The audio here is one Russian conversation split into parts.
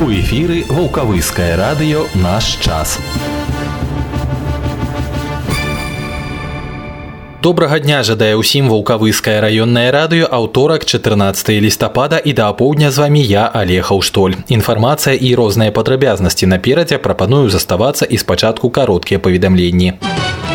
У эфіры Ваўкавыскае радыё «Наш час». Добрага дня жадае ўсім Ваўкавыскае раённае радыё, аўторак 14 лістапада, і да апоўдня з вамі я, Олег Аўштоль. Інфармацыя і розныя падрабязнасці наперадзе, прапаную заставацца і спачатку кароткія паведамленні.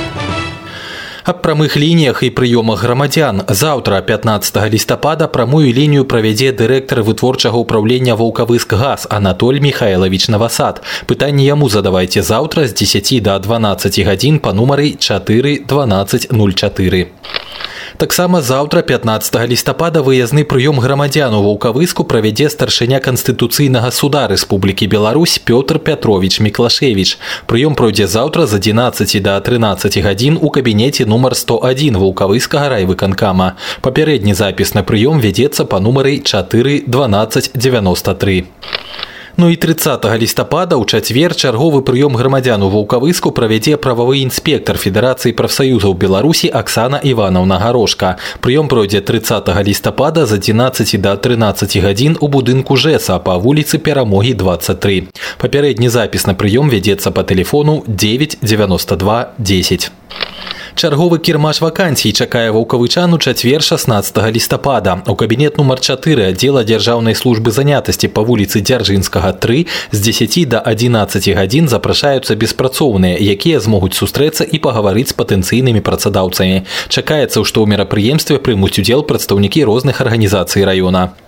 Аб прамых лініях і прыёмах грамадзян. Заўтра, 15 лістапада, прамую лінію правядзе дырэктар вытворчага ўпраўлення «Ваўкавыскгаз» Анатоль Михайлович Новосад. Пытанні яму задавайце заўтра з 10 до 12 гадзін па нумары 4 12 04. Таксама заўтра, 15 лістапада, выязны прыём грамадзян у Ваўкавыску правядзе старшыня Канстытуцыйнага суда Рэспублікі Беларусь Пётр Пятрович Міклашевіч. Прыём пройдзе заўтра з 11 до 13 гадзін у кабінеце нумар 101 Ваўкавыскага райвыканкама. Папярэдні запіс на прыём вядзецца па нумары 4 12 93. Ну і 30 лістапада ў чацвер чарговы прыём грамадзян у Ваўкавыску правядзе прававы інспектар Федэрацыі прафсаюзаў Беларусі Аксана Іванаўна Гарошка. Прыём пройдзе 30 лістапада з 11 до 13 гадзін у будынку ЖЭСа па вуліцы Перамогі 23. Папярэдні запіс на прыём вядзецца па тэлефону 9 92 10. Чарговы кірмаш вакансій чакае ваўкавычан у чацвер 16 лістапада. У кабінет нумар 4 аддзела дзяржаўнай службы занятасці па вуліцы Дзяржынскага 3 з 10 до 11 гадзін запрашаюцца беспрацоўныя, якія змогуць сустрэцца і пагаварыць з патэнцыйнымі працадаўцамі. Чакаецца, што ў мерапрыемстве прымуць удзел прадстаўнікі розных арганізацый раёна.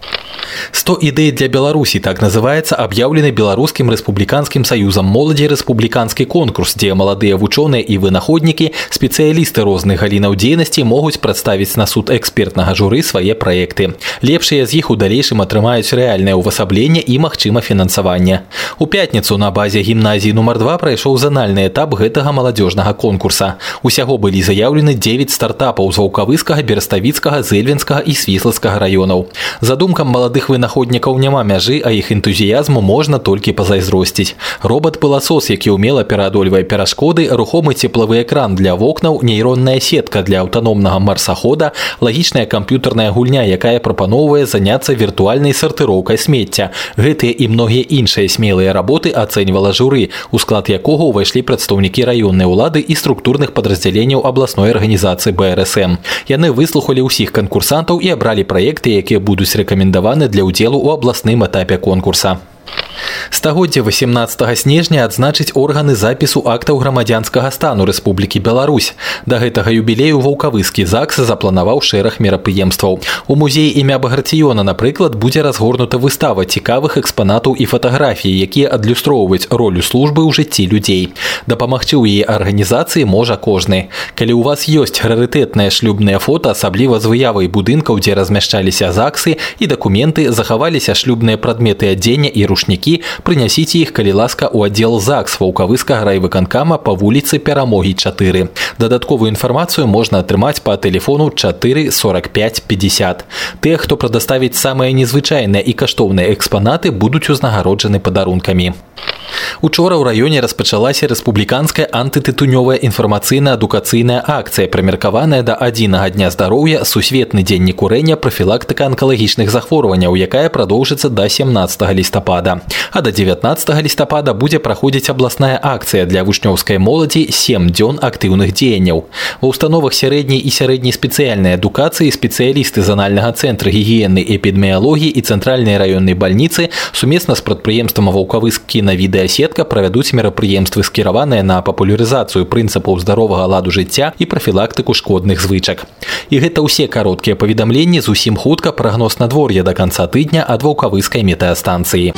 100 ідэй для Беларусі, так называецца аб'яўлены Беларускім рэспубліканскім саюзам моладзі рэспубліканскі конкурс, дзе маладыя вучоныя і вынаходнікі, спецыялісты розных галінаў дзейнасці могуць прадставіць на суд экспертнага журы свае праекты. Лепшыя з іх у далейшым атрымаюць рэальнае ўвасабленне і, магчыма, фінансаванне. У пятніцу на базе гімназіі нумар 2 прайшоў занальны этап гэтага маладзёжнага конкурса. Усяго былі заяўлены 9 стартапаў з Ваўкавыскага, Бераставіцкага, Зэльвенскага і Свіслацкага раёнаў. Задумкам маладых вынаходнікаў няма мяжы, а іх энтузіязму можна толькі пазайзросціць. Робат-пыласос, які ўмела пераадольвае перашкоды, рухомы цеплавы экран для вокнаў, нейронная сетка для аўтаномнага марсахода, лагічная камп'ютарная гульня, якая прапаноўвае заняцца віртуальнай сартыроўкай смецця. Гэтыя і многія іншыя смелыя работы ацэньвала журы, у склад якога ўвайшлі прадстаўнікі раённай улады і структурных падраздзяленняў абласной арганізацыі БРСМ. Яны выслухалі ўсіх канкурсантаў і абралі праекты, якія будуць рэкамендаваны для ўдзелу ў абласным этапе конкурса. Стагоддзе 18 снежня адзначыць органы запісу актаў грамадзянскага стану Рэспублікі Беларусь. Да гэтага юбілею Ваўкавыскі ЗАГС запланаваў шэраг мерапрыемстваў. У музеі імя Баграцыёна, напрыклад, будзе разгорнута выстава цікавых экспанатаў і фатаграфій, якія адлюстроўваюць ролю службы ў жыцці людзей. Дапамагчы ў яе арганізацыі можа кожны. Калі ў вас ёсць рарытэтныя шлюбныя фота, асабліва з выявай будынкаў, дзе размяшчаліся ЗАГСы, і дакументы, захаваліся шлюбныя прадметы адзення і рушнікі, прынясіце іх, калі ласка, у аддзел ЗАГС Ваўкавыскага райвыканкама па вуліцы Перамогі 4. Дадатковую інфармацыю можна атрымаць па тэлефону 4 45 50. Тыя, хто прадаставіць самыя незвычайныя і каштоўныя экспанаты, будуць узнагароджаны падарункамі. Учора ў раёне распачалася рэспубліканская антытытунёвая інфармацыйна-адукацыйная акцыя, прымеркаваная да адзінага дня здароўя, сусветны дзень некурэння, прафілактыка анкалагічных захворванняў, якая прадоўжыцца да 17 лістапада. А да 19 лістапада будзе праходзіць абласная акцыя для вучнёўскай моладзі 7 дзён актыўных дзеянняў. Ва ўстановах сярэдняй і сярэдняй спецыяльнай адукацыі спецыялісты з анальнага цэнтра гігіены і эпідэміялогіі і цэнтральнай раённай бальніцы сумесна з прадпрыемствам Ваўкавыск кінавідэасетка правядуць мерапрыемствы, скіраваныя на папулярызацыю прынцыпаў здаровага ладу жыцця і прафілактыку шкодных звычак. І гэта ўсе кароткія паведамленні, зусім хутка прагноз надвор'я да канца тыдня ад Ваўкавыскай метэастанцыі.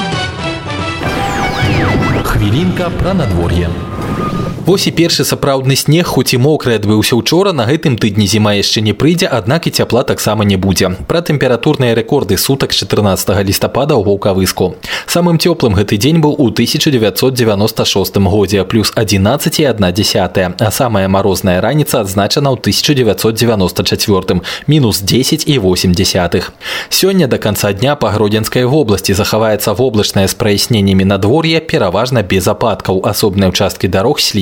Хвілінка пра надвор'е. Вось і першы сапраўдны снег, хоць і мокры, адбыўся учора, на гэтым тыдні зіма яшчэ не прыйдзе, аднак і цяпла таксама не будзе. Пра тэмпературныя рэкорды сутак 14 лістапада ў Ваўкавыску. Самым цёплым гэты дзень быў у 1996 годзе, плюс 11,1, а самая марозная раніца адзначана ў 1994, мінус 10,8. Сёння да канца дня па Гродзенскай вобласці захаваецца воблачнае з праясненнямі надвор'е, пераважна без ападкаў, асобныя ўчасткі дарог слізкія.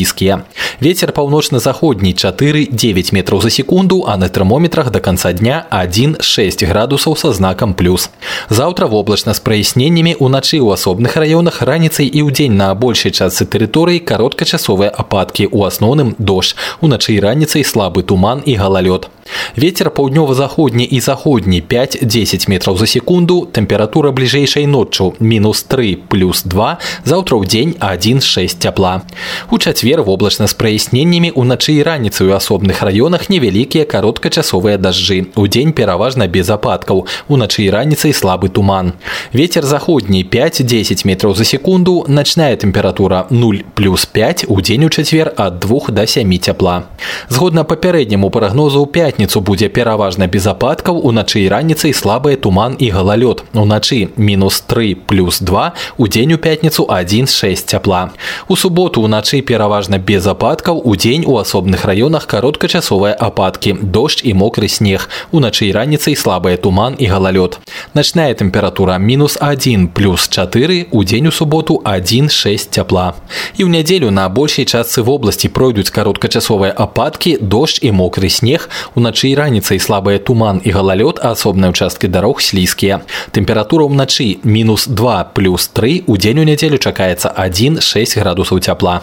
слізкія. Вецер паўночна-заходні 4-9 метраў за секунду, а на тэрмометрах до конца дня 1-6 градусаў со знаком плюс. Заўтра воблачна з праясненнямі, уначы ў асобных раёнах, раніцай і ўдзень на большай частцы тэрыторыі кароткачасовыя ападкі, у асноўным дождж, уначы і раніцай слабы туман і галалёд. Ветер паўднёва-заходні і заходні 5-10 метраў за секунду, тэмпература бліжэйшай ноччу -3 плюс 2, заўтра ў дзень 1-6 цяпла. У чацвер воблачна з праясненнямі, уначы і раніцай у асобных раёнах невялікія кароткачасовыя дажджы, удзень пераважна без ападкаў, уначы і раніцай слабы туман. Ветер заходні 5-10 метраў за секунду, начная тэмпература 0 плюс 5, удзень у чацвер ад 2 до 7 цяпла. Згодна папярэдняму прагнозу, у пятніцу будзе пераважна без ападкаў, уначы і раніцай слабы туман і галалёд, уначы -3 плюс 2, удзень у пятніцу 1-6 цяпла. У суботу уначы пераважна без ападкаў, удзень у асобных раёнах кароткачасовыя ападкі, дождж і мокры снег, уначы і раніцай слабы туман і галалёд. Начная тэмпература -1 плюс 4, удзень у суботу 1-6 цяпла. І ў нядзелю на большай частцы вобласці пройдуць кароткачасовыя ападкі, дождж і мокры снег, уначы і раніцай слабы туман і галалёд, а асобныя ўчасткі дарог слізкія. Тэмпература ўначы -2 плюс 3, удзень у нядзелю чакаецца 1-6 градусаў цяпла.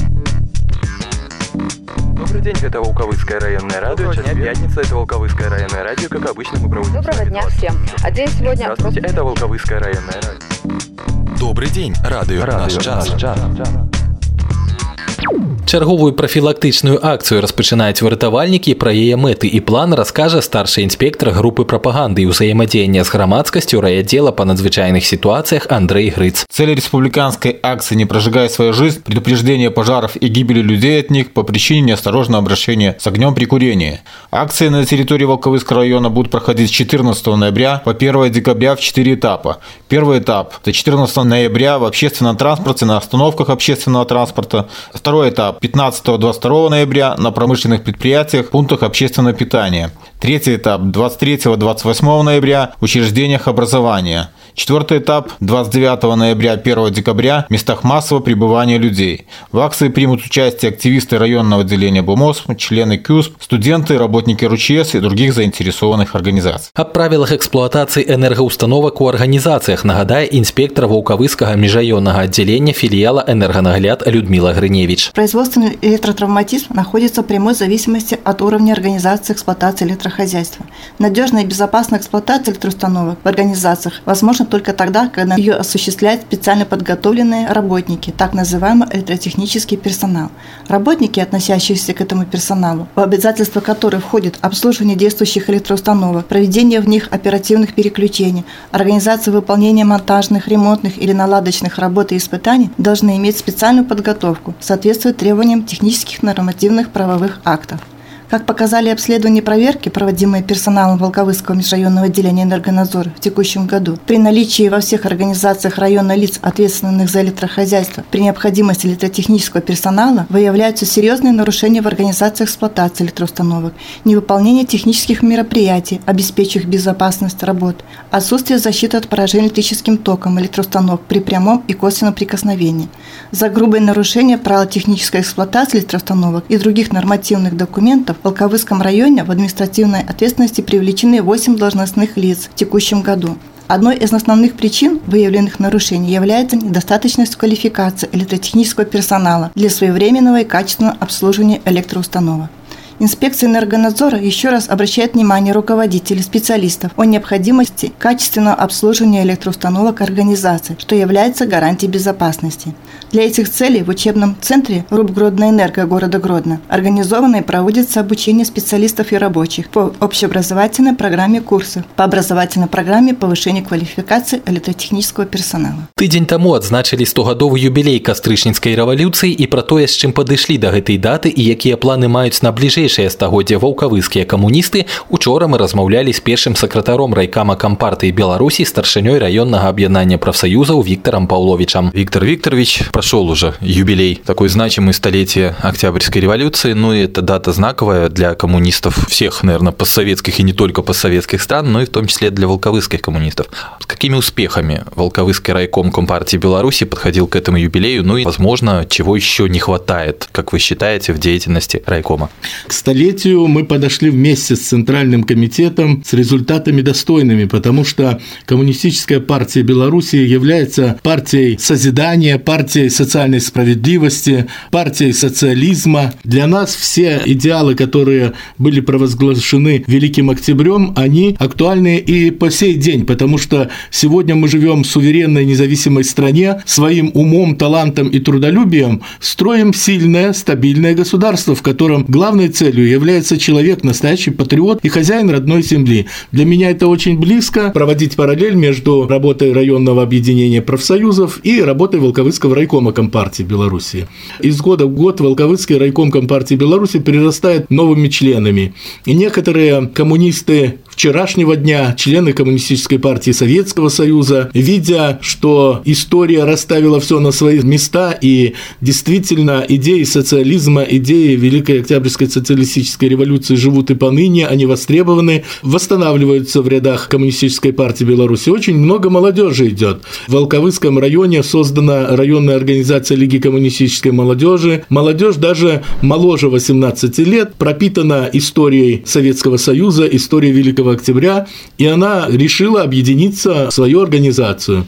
Добрый день, это Волковыцкое районное радио. Сейчас пятница, это Волковыцкое районное радио. Как обычно, мы проводим... Доброго дня всем. А день сегодня... Здравствуйте, это Волковыцкое районное радио. Добрый день, радио «Наш час». Чарговую прафілактычную акцыю распачынаюць выратавальнікі. Пра яе мэты і план раскажа старшы інспектор группы прапаганды і ўзаемадзеяння з грамадскасцю райотдела по надзвычайных ситуациях Андрей Грыц. Цель республиканской акции «Не прожигай свою жизнь» – предупреждение пожаров и гибели людей от них по причине неосторожного обращения с огнем при курении. Акции на территории Волковыцкого района будут проходить с 14 ноября по 1 декабря в 4 этапа. Первый этап – это 14 ноября в общественном транспорте, на остановках общественного транспорта. Второй этап – 15-22 ноября на промышленных предприятиях, пунктах общественного питания. Третий этап – 23-28 ноября в учреждениях образования. Четвертый этап – 29 ноября 1 декабря в местах массового пребывания людей. В акции примут участие активисты районного отделения БУМОС, члены КЮСП, студенты, работники РУЧС и других заинтересованных организаций. Аб правилах эксплуатации энергоустановок у организациях нагадае инспектор Волковыцкого межрайонного отделения филиала «Энергонагляд» Людмила Гриневич. Производственный электротравматизм находится в прямой зависимости от уровня организации эксплуатации электрохозяйства. Надежная и безопасная эксплуатация электроустановок в организациях возможна только тогда, когда ее осуществляют специально подготовленные работники, так называемый электротехнический персонал. Работники, относящиеся к этому персоналу, в обязательства которых входит обслуживание действующих электроустановок, проведение в них оперативных переключений, организация выполнения монтажных, ремонтных или наладочных работ и испытаний, должны иметь специальную подготовку, соответствуя требованиям технических нормативных правовых актов. Как показали обследования и проверки, проводимые персоналом Волковыцкого межрайонного отделения энергонадзора в текущем году, при наличии во всех организациях района лиц, ответственных за электрохозяйство, при необходимости электротехнического персонала, выявляются серьезные нарушения в организации эксплуатации электроустановок, невыполнение технических мероприятий, обеспечивающих безопасность работ, отсутствие защиты от поражения электрическим током электроустановок при прямом и косвенном прикосновении. За грубые нарушения правил технической эксплуатации электроустановок и других нормативных документов в Волковыцком районе в административной ответственности привлечены 8 должностных лиц в текущем году. Одной из основных причин выявленных нарушений является недостаточность квалификации электротехнического персонала для своевременного и качественного обслуживания электроустановок. Инспекция энергонадзора еще раз обращает внимание руководителей, специалистов о необходимости качественного обслуживания электроустановок организации, что является гарантией безопасности. Для этих целей в учебном центре РУП «Гродноэнерго» города Гродно организовано и проводится обучение специалистов и рабочих по общеобразовательной программе курсов, по образовательной программе повышения квалификации электротехнического персонала. Тыдзень таму адзначылі 100-гадовы юбілей кастрычніцкай рэвалюцыі і пра тое, з чым падышлі да гэтай даты і якія планы маюць на бліжэйшыя далейшае стагоддзе ваўкавыскія камуністы, учора мы размаўлялі з першым сакратаром райкама Кампартыі Беларуси, старшынёй районного объединения профсоюзов Виктором Павловичем. Виктор Викторович, прошел уже юбилей, такой значимый столетие Октябрьской революции, и это дата знаковая для коммунистов всех, наверное, постсоветских и не только постсоветских стран, но и в том числе для волковыских коммунистов. С какими успехами Волковыский райком Компартии Беларуси подходил к этому юбилею, и, возможно, чего еще не хватает, как вы считаете, в деятельности райкома? К столетию мы подошли вместе с Центральным комитетом с результатами достойными, потому что Коммунистическая партия Беларуси является партией созидания, партией социальной справедливости, партией социализма. Для нас все идеалы, которые были провозглашены Великим Октябрем, они актуальны и по сей день, потому что сегодня мы живем в суверенной независимой стране, своим умом, талантом и трудолюбием строим сильное, стабильное государство, в котором главной целью является человек, настоящий патриот и хозяин родной земли. Для меня это очень близко, проводить параллель между работой районного объединения профсоюзов и работой Волковыского райкома Компартии Беларуси. Из года в год Волковыский райком Компартии Беларуси прирастает новыми членами. И некоторые коммунисты вчерашнего дня, члены Коммунистической партии Советского Союза, видя, что история расставила все на свои места, и действительно идеи социализма, идеи Великой Октябрьской социалистической революции живут и поныне, они востребованы, восстанавливаются в рядах Коммунистической партии Беларуси. Очень много молодежи идет. В Волковыском районе создана районная организация Лиги коммунистической молодежи. Молодежь даже моложе 18 лет пропитана историей Советского Союза, историей Великого Октября, и она решила объединиться в свою организацию.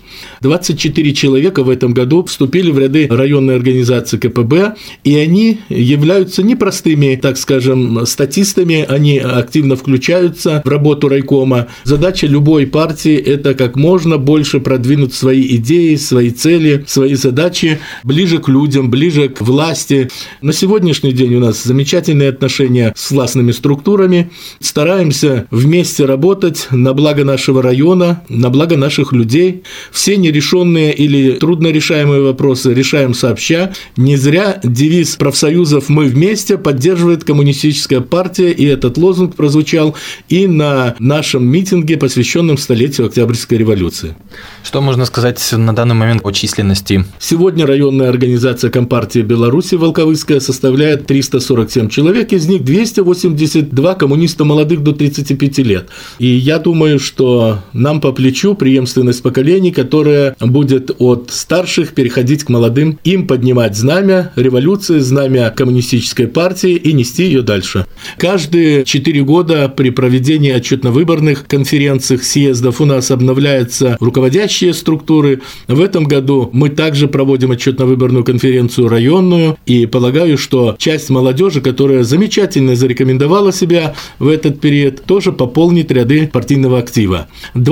24 человека в этом году вступили в ряды районной организации КПБ, и они являются непростыми, так скажем, статистами, они активно включаются в работу райкома. Задача любой партии – это как можно больше продвинуть свои идеи, свои цели, свои задачи ближе к людям, ближе к власти. На сегодняшний день у нас замечательные отношения с властными структурами. Стараемся вместе работать на благо нашего района, на благо наших людей. Все нерешенные или труднорешаемые вопросы решаем сообща. Не зря девиз профсоюзов «Мы вместе» поддерживает Коммунистическая партия, и этот лозунг прозвучал и на нашем митинге, посвященном столетию Октябрьской революции. Что можно сказать на данный момент о численности? Сегодня районная организация Компартии Беларуси Волковыская составляет 347 человек, из них 282 коммуниста молодых до 35 лет. И я думаю, что нам по плечу преемственность поколений, которая будет от старших переходить к молодым, им поднимать знамя революции, знамя Коммунистической партии и нести ее дальше. Каждые 4 года при проведении отчетно-выборных конференций, съездов у нас обновляются руководящие структуры. В этом году мы также проводим отчетно-выборную конференцию районную, и полагаю, что часть молодежи, которая замечательно зарекомендовала себя в этот период, тоже пополнит ряды партийного актива.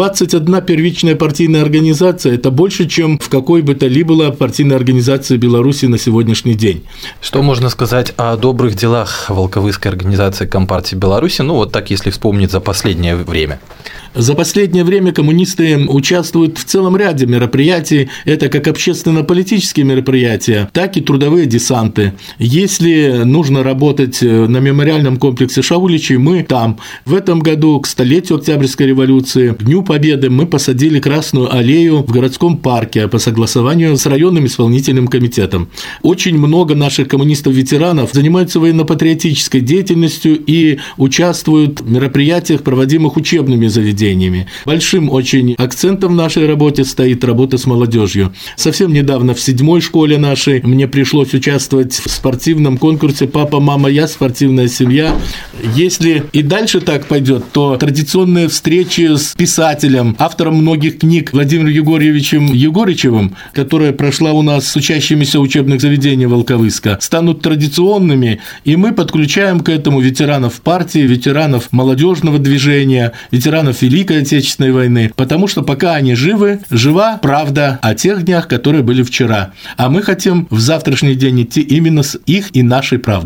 21 первичная партийная организация – это больше, чем в какой бы то ни было партийной организации Беларуси на сегодняшний день. Что можно сказать о добрых делах Волковыской организации Компартии Беларуси, вот так, если вспомнить за последнее время? За последнее время коммунисты участвуют в целом ряде мероприятий. Это как общественно-политические мероприятия, так и трудовые десанты. Если нужно работать на мемориальном комплексе Шауличей, мы там. В этом году к столетию Октябрьской революции, к Дню Победы, мы посадили Красную аллею в городском парке по согласованию с районным исполнительным комитетом. Очень много наших коммунистов-ветеранов занимаются военно-патриотической деятельностью и участвуют в мероприятиях, проводимых учебными заведениями. Большим очень акцентом в нашей работе стоит работа с молодежью. Совсем недавно в 7-й школе нашей мне пришлось участвовать в спортивном конкурсе «Папа, мама, я. Спортивная семья». Если и дальше так пойдет, то традиционные встречи с писателем, автором многих книг Владимиром Егорьевичем Егорычевым, которая прошла у нас с учащимися учебных заведений Волковыска, станут традиционными, и мы подключаем к этому ветеранов партии, ветеранов молодежного движения, ветеранов Великой Отечественной войны, потому что пока они живы, жива правда о тех днях, которые были вчера. А мы хотим в завтрашний день идти именно с их и нашей правдой.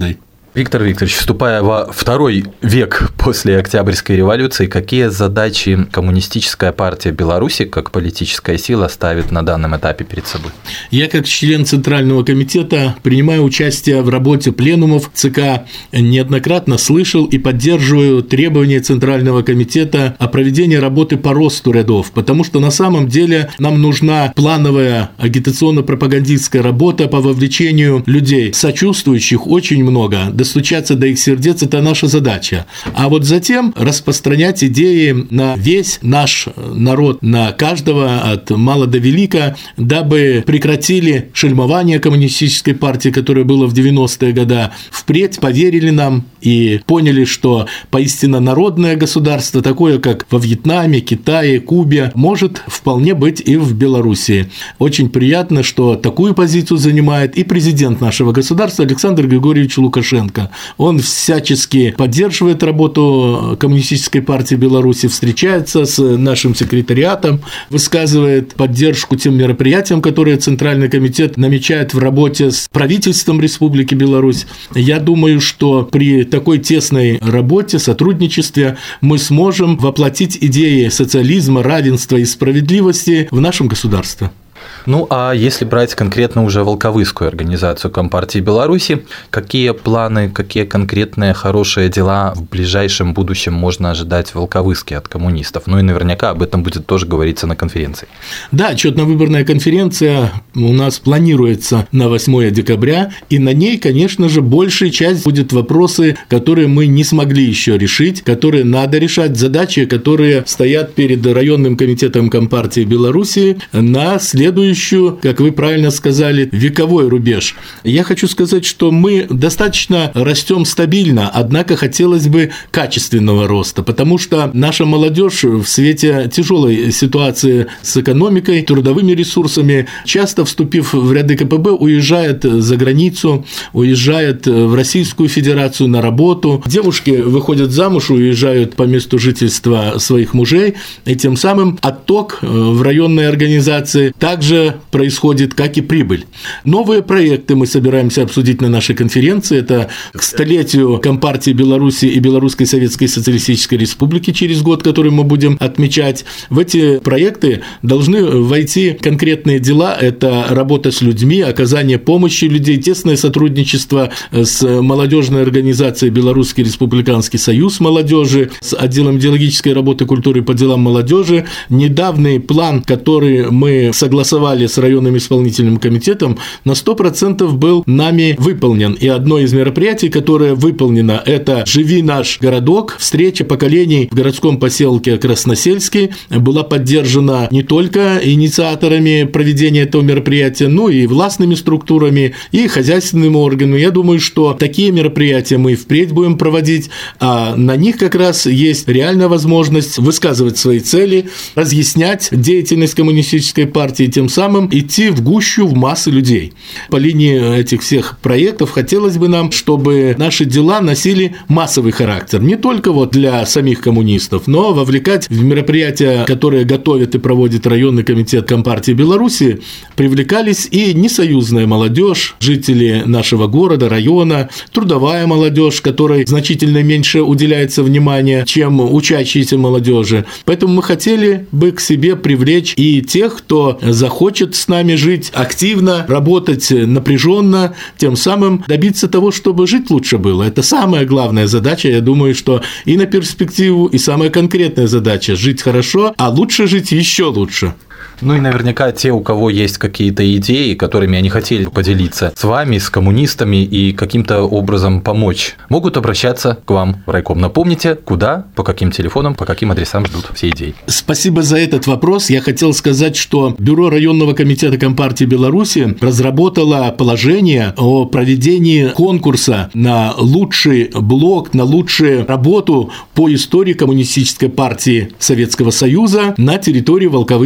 Виктор Викторович, вступая во второй век после Октябрьской революции, какие задачи Коммунистическая партия Беларуси как политическая сила ставит на данном этапе перед собой? Я, как член Центрального комитета, принимаю участие в работе пленумов ЦК, неоднократно слышал и поддерживаю требования Центрального комитета о проведении работы по росту рядов, потому что на самом деле нам нужна плановая агитационно-пропагандистская работа по вовлечению людей, сочувствующих очень много. Достучаться до их сердец – это наша задача. А вот затем распространять идеи на весь наш народ, на каждого, от мала до велика, дабы прекратили шельмование коммунистической партии, которое было в 90-е годы, впредь поверили нам и поняли, что поистине народное государство, такое как во Вьетнаме, Китае, Кубе, может вполне быть и в Белоруссии. Очень приятно, что такую позицию занимает и президент нашего государства Александр Григорьевич Лукашенко. Он всячески поддерживает работу Коммунистической партии Беларуси, встречается с нашим секретариатом, высказывает поддержку тем мероприятиям, которые Центральный комитет намечает в работе с правительством Республики Беларусь. Я думаю, что при такой тесной работе, сотрудничестве мы сможем воплотить идеи социализма, равенства и справедливости в нашем государстве. Ну, а если брать конкретно уже Волковыскую организацию Компартии Беларуси, какие планы, какие конкретные хорошие дела в ближайшем будущем можно ожидать в Волковыске от коммунистов? Ну и наверняка об этом будет тоже говориться на конференции. Да, отчетно-выборная конференция у нас планируется на 8 декабря, и на ней, конечно же, большая часть будет вопросы, которые мы не смогли еще решить, которые надо решать, задачи, которые стоят перед районным комитетом Компартии Беларуси на следующую, как вы правильно сказали, вековой рубеж. Я хочу сказать, что мы достаточно растем стабильно, однако хотелось бы качественного роста, потому что наша молодежь в свете тяжелой ситуации с экономикой, трудовыми ресурсами, часто вступив в ряды КПБ, уезжает за границу, уезжает в Российскую Федерацию на работу. Девушки выходят замуж, уезжают по месту жительства своих мужей, и тем самым отток в районные организации также происходит, как и прибыль. Новые проекты мы собираемся обсудить на нашей конференции. Это к столетию Компартии Беларуси и Белорусской Советской Социалистической Республики через год, который мы будем отмечать. В эти проекты должны войти конкретные дела. Это работа с людьми, оказание помощи людей, тесное сотрудничество с молодежной организацией Белорусский Республиканский союз молодежи, с отделом идеологической работы, культуры по делам молодежи. Недавний план, который мы согласовали с районным исполнительным комитетом, на 100% был нами выполнен. И одно из мероприятий, которое выполнено, это «Живи наш городок», встреча поколений в городском поселке Красносельский, была поддержана не только инициаторами проведения этого мероприятия, но и властными структурами, и хозяйственными органами. Я думаю, что такие мероприятия мы впредь будем проводить, а на них как раз есть реальная возможность высказывать свои цели, разъяснять деятельность коммунистической партии, тем самым идти в гущу, в массы людей. По линии этих всех проектов хотелось бы нам, чтобы наши дела носили массовый характер. Не только вот для самих коммунистов, но вовлекать в мероприятия, которые готовит и проводит районный комитет Компартии Беларуси, привлекались и несоюзная молодежь, жители нашего города, района, трудовая молодежь, которой значительно меньше уделяется внимания, чем учащиеся молодежи. Поэтому мы хотели бы к себе привлечь и тех, кто захочет с нами жить активно, работать напряженно, тем самым добиться того, чтобы жить лучше было. Это самая главная задача, я думаю, что и на перспективу, и самая конкретная задача – жить хорошо, а лучше жить еще лучше. Ну и наверняка те, у кого есть какие-то идеи, которыми они хотели поделиться с вами, с коммунистами и каким-то образом помочь, могут обращаться к вам в райком. Напомните, куда, по каким телефонам, по каким адресам ждут все идеи. Спасибо за этот вопрос. Я хотел сказать, что Бюро районного комитета Компартии Беларуси разработало положение о проведении конкурса на лучший блог, на лучшую работу по истории Коммунистической партии Советского Союза на территории Волковыского района.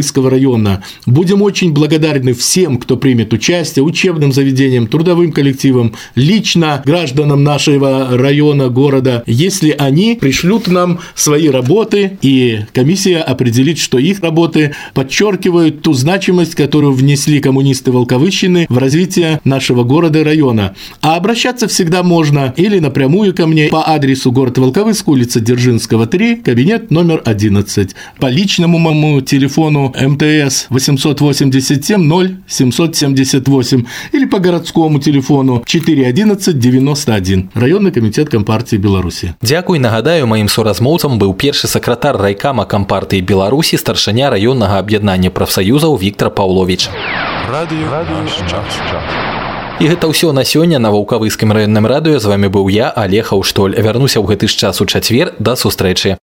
района. Будем очень благодарны всем, кто примет участие, учебным заведениям, трудовым коллективам, лично гражданам нашего района, города, если они пришлют нам свои работы, и комиссия определит, что их работы подчеркивают ту значимость, которую внесли коммунисты Волковыщины в развитие нашего города и района. А обращаться всегда можно или напрямую ко мне по адресу город Волковыск, улица Дзержинского, 3, кабинет номер 11. По личному моему телефону МТС 887-0778 или по городскому телефону 411-91. Районный комитет Компартии Беларуси. Дякуй, нагадаю, маім суразмоўцам быў першы сакратар райкама Кампартыі Беларусі, старшыня раённага аб'яднання прафсаюзаў Віктор Паўловіч. І гэта ўсё на сёння на Ваўкавыскім раённым радыё. З вами быў я, Олег Аўштоль. Вярнуся ў гэты ж час у чацвер. Да сустрэчы.